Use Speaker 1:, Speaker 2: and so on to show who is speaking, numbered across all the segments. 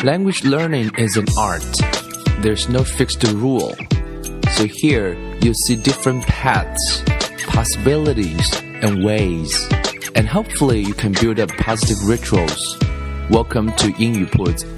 Speaker 1: Language learning is an art. There's no fixed rule. So here you'll see different paths, possibilities, and ways. And hopefully you can build up positive rituals. Welcome to 英语铺子。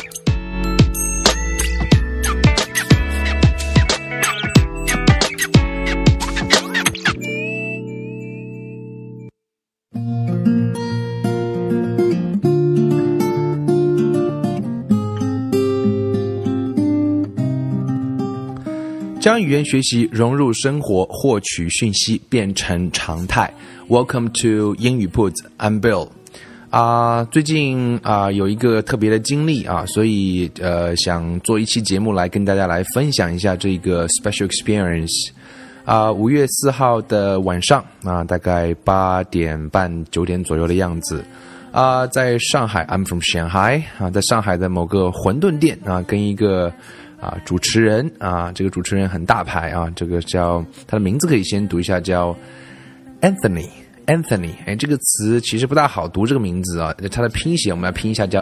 Speaker 1: 将语言学习融入生活，获取讯息变成常态。Welcome to 英语铺子 I'm Bill。最近有一个特别的经历所以想做一期节目来跟大家来分享一下这个 special experience。5月4号的晚上大概8点半9点左右的样子。在上海 I'm from Shanghai 在上海的某个馄饨店跟一个主持人这个主持人很大牌这个叫他的名字可以先读一下，叫 Anthony。这个词其实不大好读，这个名字它的拼写我们要拼一下，叫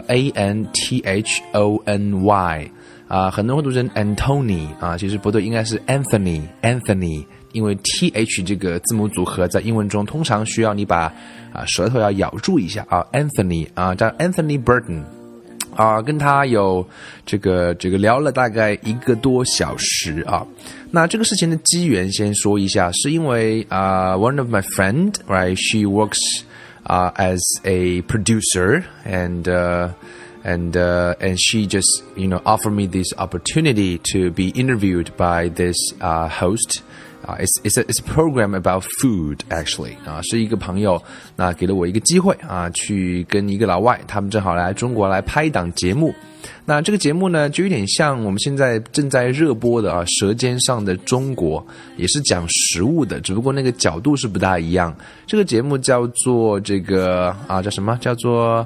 Speaker 1: Anthony。很多人会读成 Anthony 其实不对，应该是 Anthony， 因为 th 这个字母组合在英文中通常需要你把舌头要咬住一下Anthony 叫 Anthony Burton。跟他有这个聊了大概1个多小时那这个事情的机缘先说一下，是因为one of my friend, right, she works as a producer and she just offered me this opportunity to be interviewed by this host.It's a program about food actually 是一个朋友给了我一个机会去跟一个老外，他们正好来中国来拍一档节目。那这个节目呢就有点像我们现在正在热播的舌尖上的中国，也是讲食物的，只不过那个角度是不大一样。这个节目叫做这个叫什么，叫做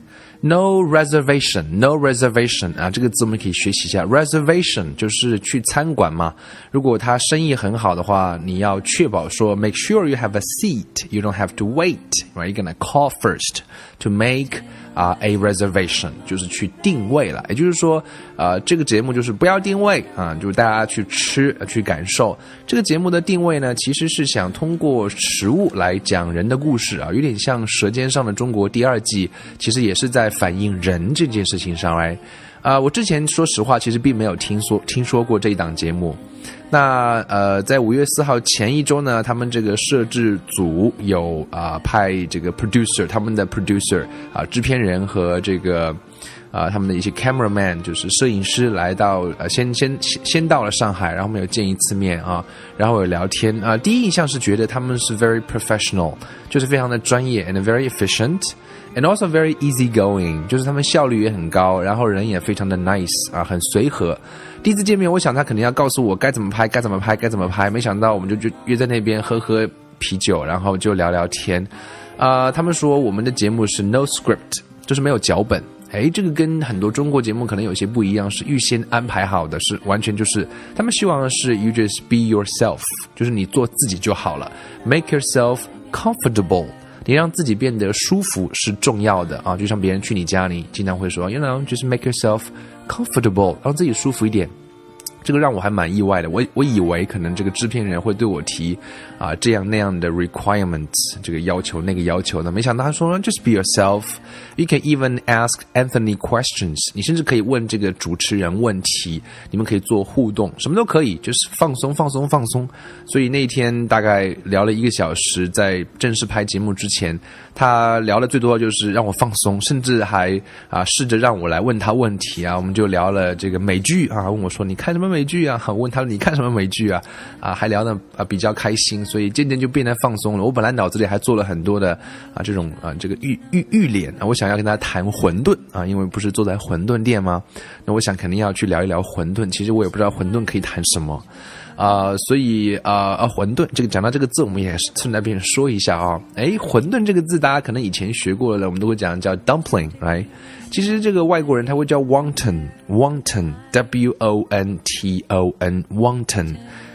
Speaker 1: No reservation 这个字我们可以学习一下。 Reservation 就是去餐馆嘛，如果他生意很好的话，你要确保说 make sure you have a seat, you don't have to wait, right? You're gonna call first to make a reservation 就是去定位了。也就是说这个节目就是不要定位就是大家去吃去感受。这个节目的定位呢，其实是想通过食物来讲人的故事有点像舌尖上的中国第2季，其实也是在反映人这件事情上来。我之前说实话其实并没有听说过这一档节目。那在5月4号前一周呢，他们这个摄制组有派这个 producer， 他们的 producer 制片人和这个他们的一些 cameraman 就是摄影师来到先到了上海，然后我们有见一次面然后有聊天第一印象是觉得他们是 very professional， 就是非常的专业 and very efficient and also very easygoing， 就是他们效率也很高，然后人也非常的 nice 很随和。第一次见面我想他肯定要告诉我该怎么拍，没想到我们就约在那边喝啤酒，然后就聊聊天。他们说我们的节目是 no script， 就是没有脚本。这个跟很多中国节目可能有些不一样，是预先安排好的，是完全就是他们希望的是 you just be yourself， 就是你做自己就好了， make yourself comfortable， 你让自己变得舒服是重要的就像别人去你家，你经常会说 you know just make yourself comfortable， 让自己舒服一点。这个让我还蛮意外的，我以为可能这个制片人会对我提这样那样的 requirements， 这个要求那个要求的，没想到他说 just be yourself， you can even ask Anthony questions， 你甚至可以问这个主持人问题，你们可以做互动，什么都可以，就是放松。所以那一天大概聊了1个小时，在正式拍节目之前，他聊的最多就是让我放松，甚至还试着让我来问他问题我们就聊了这个美剧问我说你看什么美剧我问他你看什么美剧还聊得比较开心，所以渐渐就变得放松了。我本来脑子里还做了很多的这种这个预联我想要跟他谈馄饨因为不是坐在馄饨店吗？那我想肯定要去聊一聊馄饨，其实我也不知道馄饨可以谈什么所以馄饨这个讲到这个字，我们也是顺带便说一下馄饨这个字大家可能以前学过了，我们都会讲叫 dumpling， right？ 其实这个外国人他会叫 wonton W-O-N-T-O-N wonton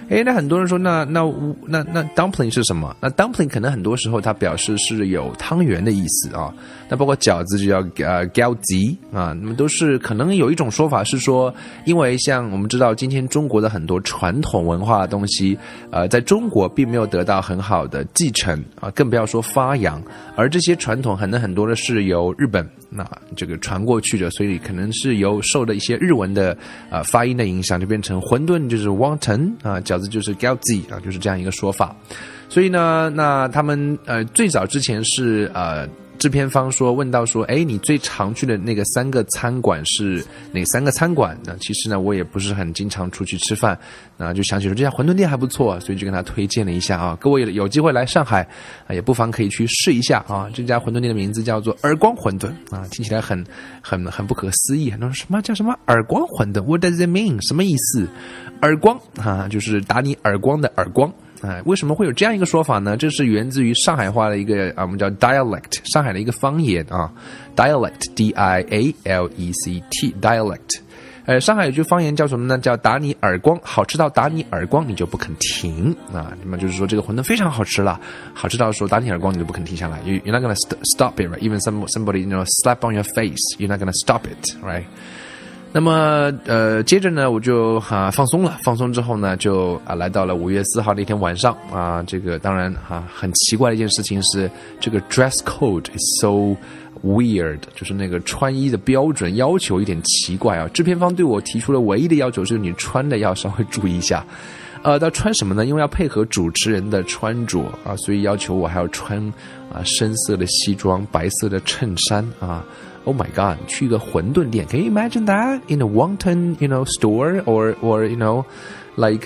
Speaker 1: 那很多人说那 dumpling 是什么？那 dumpling 可能很多时候它表示是有汤圆的意思啊。那包括饺子就叫饺子啊，那么都是可能有一种说法是说，因为像我们知道今天中国的很多传统文化的东西，在中国并没有得到很好的继承啊，更不要说发扬，而这些传统可能很多的是由日本那这个传过去的，所以可能是由受的一些日文的发音的影响，就变成馄饨就是 wonton 啊，饺子就是 饺子啊，就是这样一个说法。所以呢，那他们最早之前是制片方问到说，你最常去的那个3个餐馆是哪3个餐馆？那其实呢，我也不是很经常出去吃饭，那就想起说这家馄饨店还不错，所以就跟他推荐了一下啊。各位有机会来上海也不妨可以去试一下啊。这家馄饨店的名字叫做耳光馄饨啊，听起来很不可思议。很多人说什么叫什么耳光馄饨 ？What does it mean？ 什么意思？耳光啊，就是打你耳光的耳光。为什么会有这样一个说法呢？这是源自于上海话的一个我们叫 dialect， 上海的一个方言啊 ，dialect D-I-A-L-E-C-T dialect。上海有句方言叫什么呢？叫打你耳光，好吃到打你耳光你就不肯停啊。那么就是说这个馄饨非常好吃了，好吃到说打你耳光你就不肯停下来。You're not gonna stop it, right? Even somebody slap on your face, you're not gonna stop it, right?那么接着呢我就放松了，放松之后呢就来到了5月4号那天晚上啊，这个当然很奇怪的一件事情是这个 dress code is so weird， 就是那个穿衣的标准要求有点奇怪啊。制片方对我提出了唯一的要求是你穿的要稍微注意一下。要穿什么呢？因为要配合主持人的穿着啊，所以要求我还要穿深色的西装、白色的衬衫啊。Oh my God！ 去一个馄饨店 ，Can you imagine that in a wonton, store or like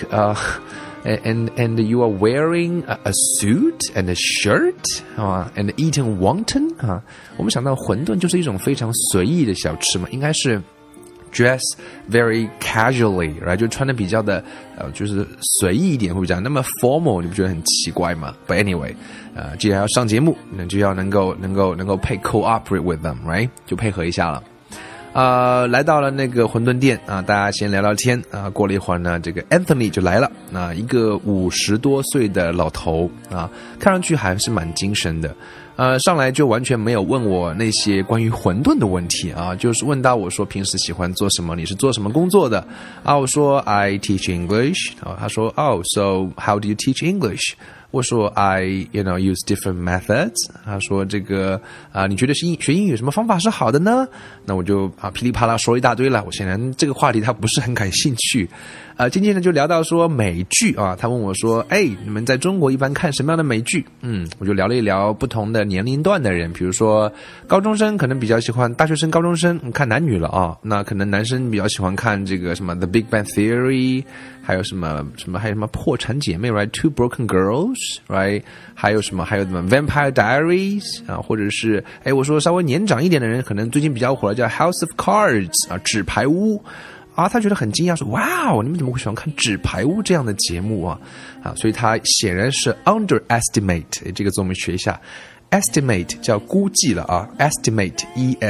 Speaker 1: and you are wearing a suit and a shirt and eating wonton 啊？我们想到馄饨就是一种非常随意的小吃嘛，应该是。dress very casually， right？ 就穿的比较的就是随意一点，会比较那么 formal， 你不觉得很奇怪吗 ？But anyway， 既然要上节目，那就要能够配 cooperate with them， right？ 就配合一下了。来到了那个馄饨店啊，大家先聊聊天啊。过了一会儿呢，这个 Anthony 就来了啊，一个50多岁的老头啊，看上去还是蛮精神的。上来就完全没有问我那些关于馄饨的问题啊，就是问到我说平时喜欢做什么，你是做什么工作的啊？我说 I teach English， 他说 Oh, so how do you teach English？我说 I use different methods。他说这个你觉得学英语有什么方法是好的呢？那我就噼里啪啦说一大堆了。我显然这个话题他不是很感兴趣。渐渐的就聊到说美剧啊，他问我说你们在中国一般看什么样的美剧？我就聊了一聊不同的年龄段的人，比如说高中生可能比较喜欢大学生、高中生看男女了啊，那可能男生比较喜欢看这个什么 The Big Bang Theory， 还有什么破产姐妹 right Two Broken Girls right 还有什么 Vampire Diaries 啊，或者是我说稍微年长一点的人可能最近比较火的叫 House of Cards 啊，纸牌屋啊，他觉得很惊讶说哇你们怎么会喜欢看纸牌屋这样的节目啊，所以他显然是 underestimate 这个字我们学一下，estimate 叫估计了啊 ，estimate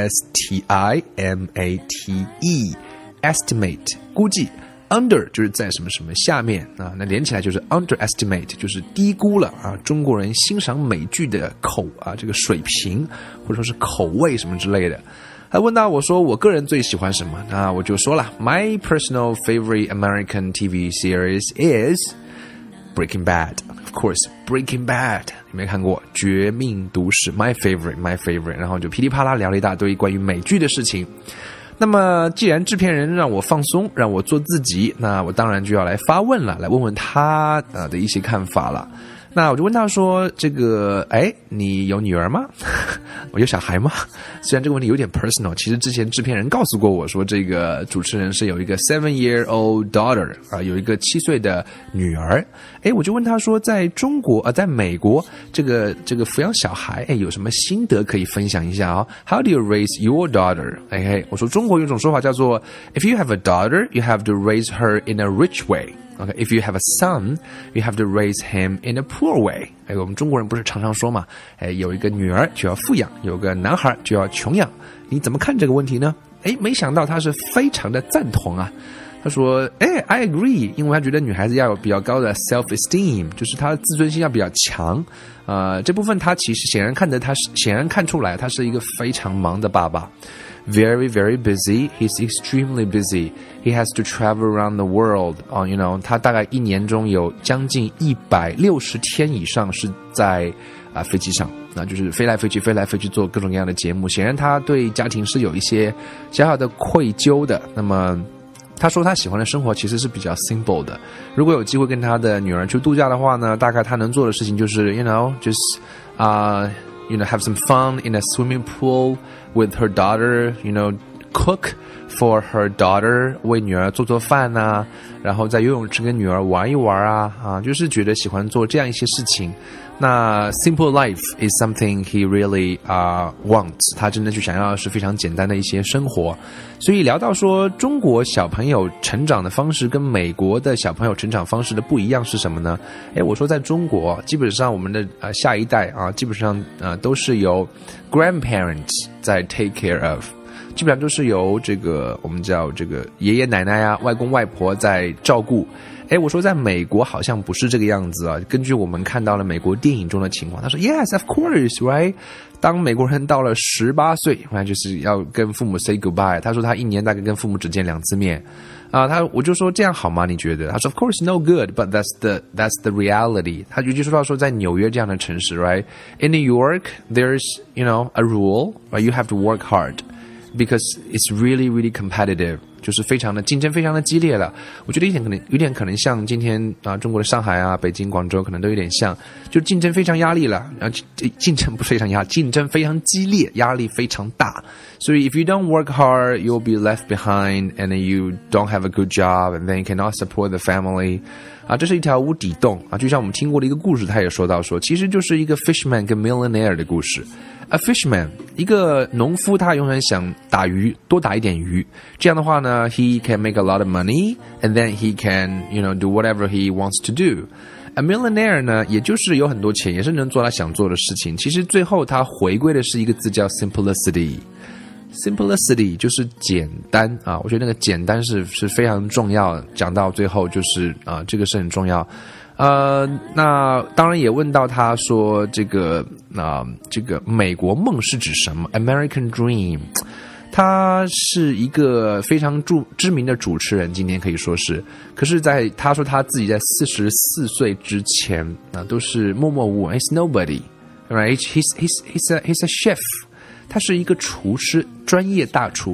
Speaker 1: E-S-T-I-M-A-T-E estimate 估计 ，under 就是在什么什么下面啊，那连起来就是 underestimate 就是低估了啊，中国人欣赏美剧的这个水平或者说是口味什么之类的。还问到我说我个人最喜欢什么，那我就说了 My personal favorite American TV series is Breaking Bad。Of course, Breaking Bad 你没看过绝命毒师 my favorite 然后就噼里啪啦聊了一大堆关于美剧的事情。那么既然制片人让我放松让我做自己，那我当然就要来发问了，来问问他的一些看法了。那我就问他说这个你有女儿吗？我有小孩吗？虽然这个问题有点 personal， 其实之前制片人告诉过我说这个主持人是有一个 7-year-old daughter 有一个7岁的女儿。我就问他说在中国在美国这个抚养小孩有什么心得可以分享一下啊 How do you raise your daughter？ 我说中国有一种说法叫做 If you have a daughter, you have to raise her in a rich way。Okay, if you have a son, you have to raise him in a poor way. 我们中国人不是常常说嘛，有一个女儿就要富养，有个男孩就要穷养。你怎么看这个问题呢？没想到他是非常的赞同啊。 他说I agree， 因为他觉得女孩子要有比较高的 self-esteem， 就是她的自尊心要比较强。这部分他其实显然看出来他是一个非常忙的爸爸。Very, very busy. He's extremely busy. He has to travel around the world. You know, 他大概一年中有将近160天以上是在飞机上，那就是飞来飞去做各种各样的节目。显然他对家庭是有一些小小的愧疚的。那么他说他喜欢的生活其实是比较 simple 的。如果有机会跟他的女儿去度假的话呢，大概他能做的事情就是 just have some fun in a swimming pool with her daughter, cook for her daughter, 为女儿做饭啊，然后在游泳池跟女儿玩一玩啊，就是觉得喜欢做这样一些事情。那 simple life is something he really wants. 他真的去想要的是非常简单的一些生活。所以聊到说中国小朋友成长的方式跟美国的小朋友成长方式的不一样是什么呢？我说在中国基本上我们的下一代基本上都是由 grandparents 在 take care of， 基本上都是由这个我们叫这个爷爷奶奶外公外婆在照顾。我说在美国好像不是这个样子啊。根据我们看到了美国电影中的情况，他说 Yes, of course, right? 当美国人到了18岁，就是要跟父母 say goodbye。他说他一年大概跟父母只见2次面。我就说这样好吗？你觉得？他说 Of course, no good, but that's the reality. 他就说到说在纽约这样的城市 ，right? In New York, there's a rule, right? You have to work hard.Because it's really, really competitive， 就是非常的竞争，非常的激烈了。我觉得有点可能像今天中国的上海北京、广州可能都有点像，就竞争非常压力了。竞争不是非常压力，竞争非常激烈，压力非常大。所以 if you don't work hard, you'll be left behind, and then you don't have a good job, and then you cannot support the family。这是一条无底洞就像我们听过的一个故事，他也说到说，其实就是一个 fishman 跟 millionaire 的故事。A fisherman， 一个农夫，他永远想打鱼，多打一点鱼。这样的话呢 ，he can make a lot of money, and then he can, do whatever he wants to do. A millionaire 呢，也就是有很多钱，也是能做他想做的事情。其实最后他回归的是一个字叫 simplicity。Simplicity 就是简单我觉得那个简单是非常重要。讲到最后就是这个是很重要。那当然也问到他说这个美国梦是指什么 American Dream。 他是一个非常知名的主持人，今天可以说是，可是他说他自己在44岁之前都是默默无闻 He's nobody, right? He's a chef， 他是一个厨师，专业大厨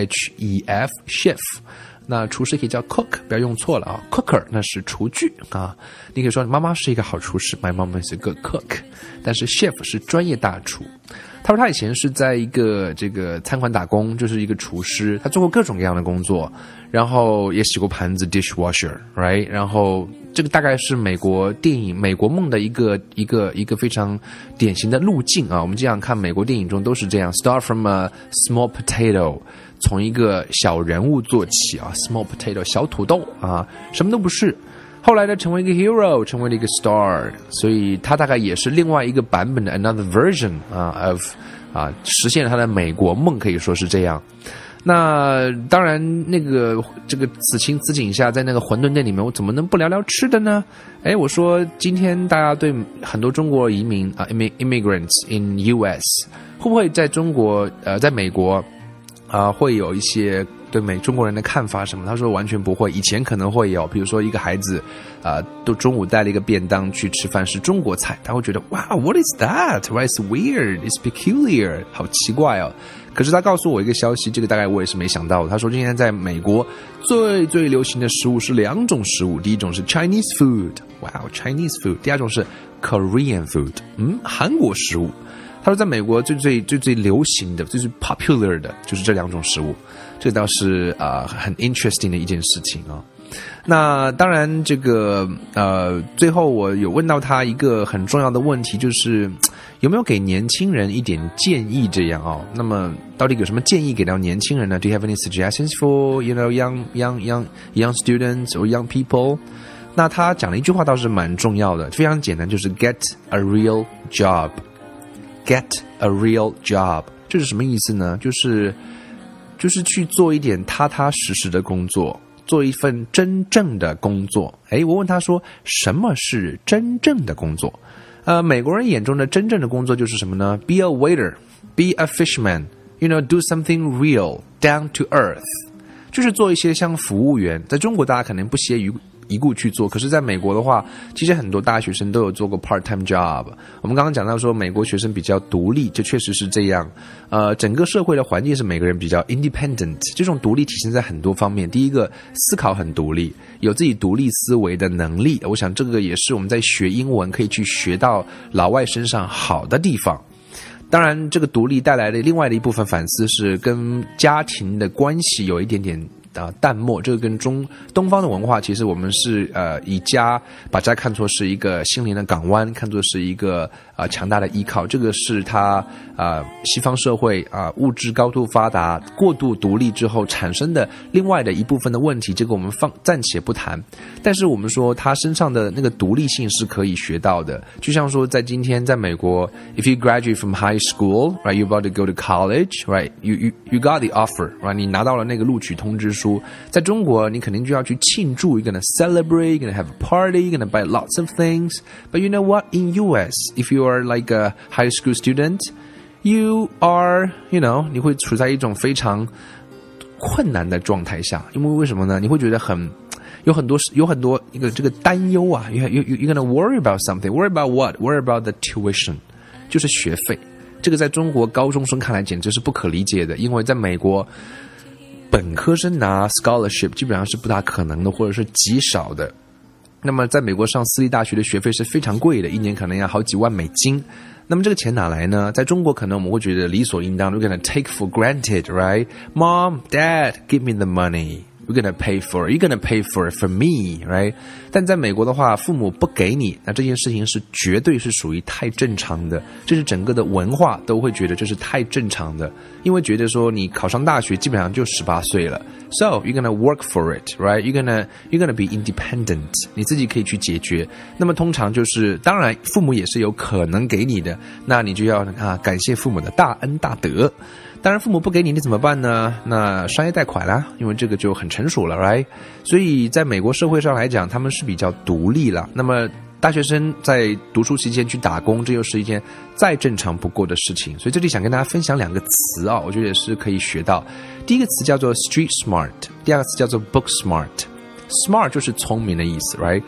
Speaker 1: CHEF chef。那厨师可以叫 cook， 不要用错了cooker 那是厨具你可以说妈妈是一个好厨师 My mom is a good cook， 但是 chef 是专业大厨。他说他以前是在一个这个餐馆打工，就是一个厨师，他做过各种各样的工作，然后也洗过盘子 dishwasher， right？ 然后这个大概是美国电影美国梦的一个非常典型的路径我们这样看美国电影中都是这样 ，start from a small potato， 从一个小人物做起small potato 小土豆什么都不是。后来呢，成为一个 hero， 成为了一个 star， 所以他大概也是另外一个版本的 another version of 实现了他的美国梦，可以说是这样。那当然，这个此情此景下，在那个馄饨店里面，我怎么能不聊聊吃的呢？我说今天大家对很多中国移民immigrants in US 会不会在中国在美国会有一些对中国人的看法什么？他说完全不会，以前可能会有，比如说一个孩子都中午带了一个便当去吃饭是中国菜，他会觉得哇 What is that? Why it's weird? It's peculiar， 好奇怪可是他告诉我一个消息，这个大概我也是没想到的。他说今天在美国最最流行的食物是2种食物，第一种是 Chinese food， Wow Chinese food， 第二种是 Korean food， 韩国食物。他说在美国最流行的最 popular 的就是这2种食物，这倒是很 interesting 的一件事情那当然这个最后我有问到他一个很重要的问题，就是有没有给年轻人一点建议这样那么到底有什么建议给到年轻人呢？ Do you have any suggestions for young students or young people？ 那他讲了一句话倒是蛮重要的，非常简单，就是 get a real job。Get a real job， 这是什么意思呢？就是去做一点踏踏实实的工作， 做一份真正的工作。我问他说，什么是真正的工作？美国人眼中的真正的工作就是什么呢？ Be a waiter, be a fisherman, do something real, down to earth， 就是做一些像服务员。在中国大家可能不屑于一顾去做，可是在美国的话，其实很多大学生都有做过 part-time job。我们刚刚讲到说美国学生比较独立，这确实是这样。整个社会的环境是每个人比较 independent， 这种独立体现在很多方面。第一个，思考很独立，有自己独立思维的能力，我想这个也是我们在学英文可以去学到老外身上好的地方。当然这个独立带来的另外的一部分反思是跟家庭的关系有一点点淡漠，这个跟东方的文化，其实我们是把家看作是一个心灵的港湾，看作是一个强大的依靠。这个是它西方社会物质高度发达、过度独立之后产生的另外的一部分的问题，这个我们暂且不谈。但是我们说他身上的那个独立性是可以学到的。就像说在今天在美国 ，if you graduate from high school, right, you're about to go to college, right, you got the offer, right, 你拿到了那个录取通知书。在中国你肯定就要去庆祝， you're gonna celebrate, you're gonna have a party, you're gonna buy lots of things. But you know what? In US, if you are like a high school student, you are, 你会处在一种非常困难的状态下。因为什么呢？你会觉得有很多这个担忧啊。You're gonna worry about something. Worry about what? Worry about the tuition. 就是学费。这个在中国高中生看来简直是不可理解的，因为在美国本科生拿 scholarship 基本上是不大可能的，或者是极少的。那么在美国上私立大学的学费是非常贵的，一年可能要好几万美金。那么这个钱哪来呢？在中国可能我们会觉得理所应当， We're gonna take for granted, right? Mom, Dad, give me the money.We're gonna pay for it. You're gonna pay for it for me, right? 但在美国的话，父母不给你，那这件事情是绝对是属于太正常的，这是整个的文化都会觉得这是太正常的，因为觉得说你考上大学基本上就18岁了。So you're gonna work for it, right? You're gonna be independent. 你自己可以去解决。那么通常就是，当然父母也是有可能给你的，那你就要感谢父母的大恩大德。当然父母不给你，你怎么办呢？那商业贷款啦，因为这个就很成熟了 right？ 所以在美国社会上来讲，他们是比较独立了。那么大学生在读书期间去打工，这又是一件再正常不过的事情。所以这里想跟大家分享两个词我觉得也是可以学到。第一个词叫做 street smart， 第二个词叫做 book smart。Smart 就是聪明的意思 right？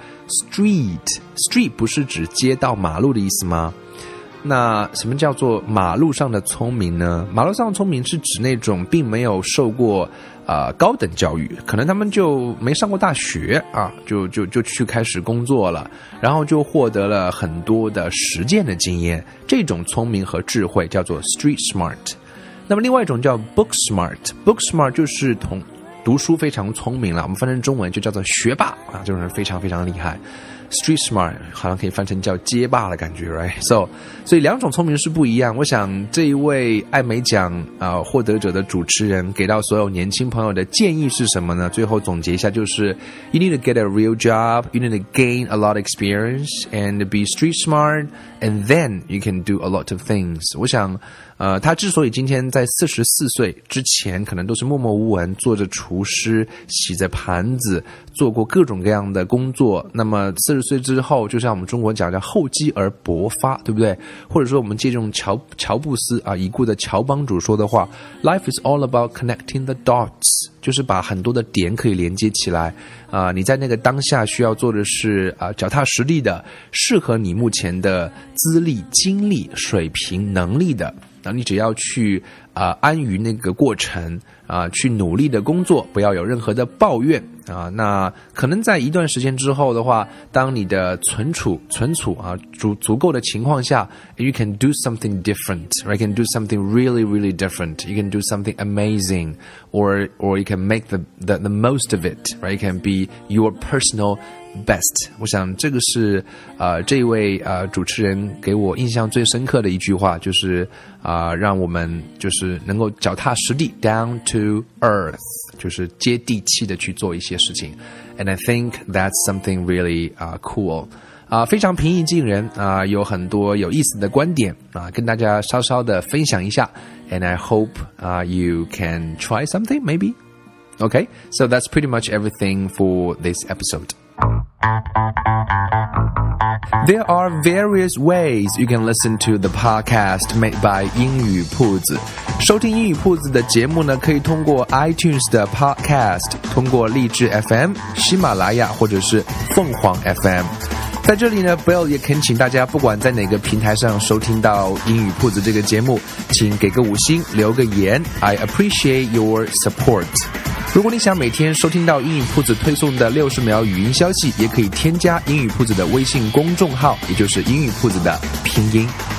Speaker 1: Street 不是指街道马路的意思吗？那什么叫做马路上的聪明呢？马路上的聪明是指那种并没有受过高等教育，可能他们就没上过大学就去开始工作了，然后就获得了很多的实践的经验，这种聪明和智慧叫做 street smart。 那么另外一种叫 book smart。 Book smart 就是读书非常聪明了，我们翻成中文就叫做学霸这种人非常非常厉害。Street smart 好像可以翻成叫街霸的感觉 right？ 所以两种聪明是不一样。我想这一位艾美奖获得者的主持人给到所有年轻朋友的建议是什么呢？最后总结一下，就是 You need to get a real job, you need to gain a lot of experience and be street smart, and then you can do a lot of things。 我想他之所以今天在44岁之前可能都是默默无闻，做着厨师，洗着盘子，做过各种各样的工作，那么40岁之后，就像我们中国讲叫厚积而薄发，对不对？或者说我们借用乔布斯已故的乔帮主说的话， Life is all about connecting the dots， 就是把很多的点可以连接起来。你在那个当下需要做的是脚踏实地的，适合你目前的资历、经历、水平、能力的，你只要去安于那个过程去努力的工作，不要有任何的抱怨那可能在一段时间之后的话，当你的存储足够的情况下 you can do something different, or you can do something really really different, you can do something amazing, or you can make the most of it, right? You can be your personal best。 我想这个是这一位主持人给我印象最深刻的一句话，就是让我们就是能够脚踏实地 down to earth， 就是接地气的去做一些事情。 And I think that's something really cool。非常平易近人有很多有意思的观点跟大家稍稍的分享一下。 And I hope you can try something maybe。 Okay, so that's pretty much everything for this episode. There are various ways you can listen to the podcast made by 英语铺子。收听英语铺子的节目呢，可以通过 iTunes 的 podcast， 通过荔枝 FM、喜马拉雅或者是凤凰 FM。在这里呢 Bill 也恳请大家不管在哪个平台上收听到英语铺子这个节目，请给个5星，留个言 I appreciate your support。 如果你想每天收听到英语铺子推送的60秒语音消息，也可以添加英语铺子的微信公众号，也就是英语铺子的拼音。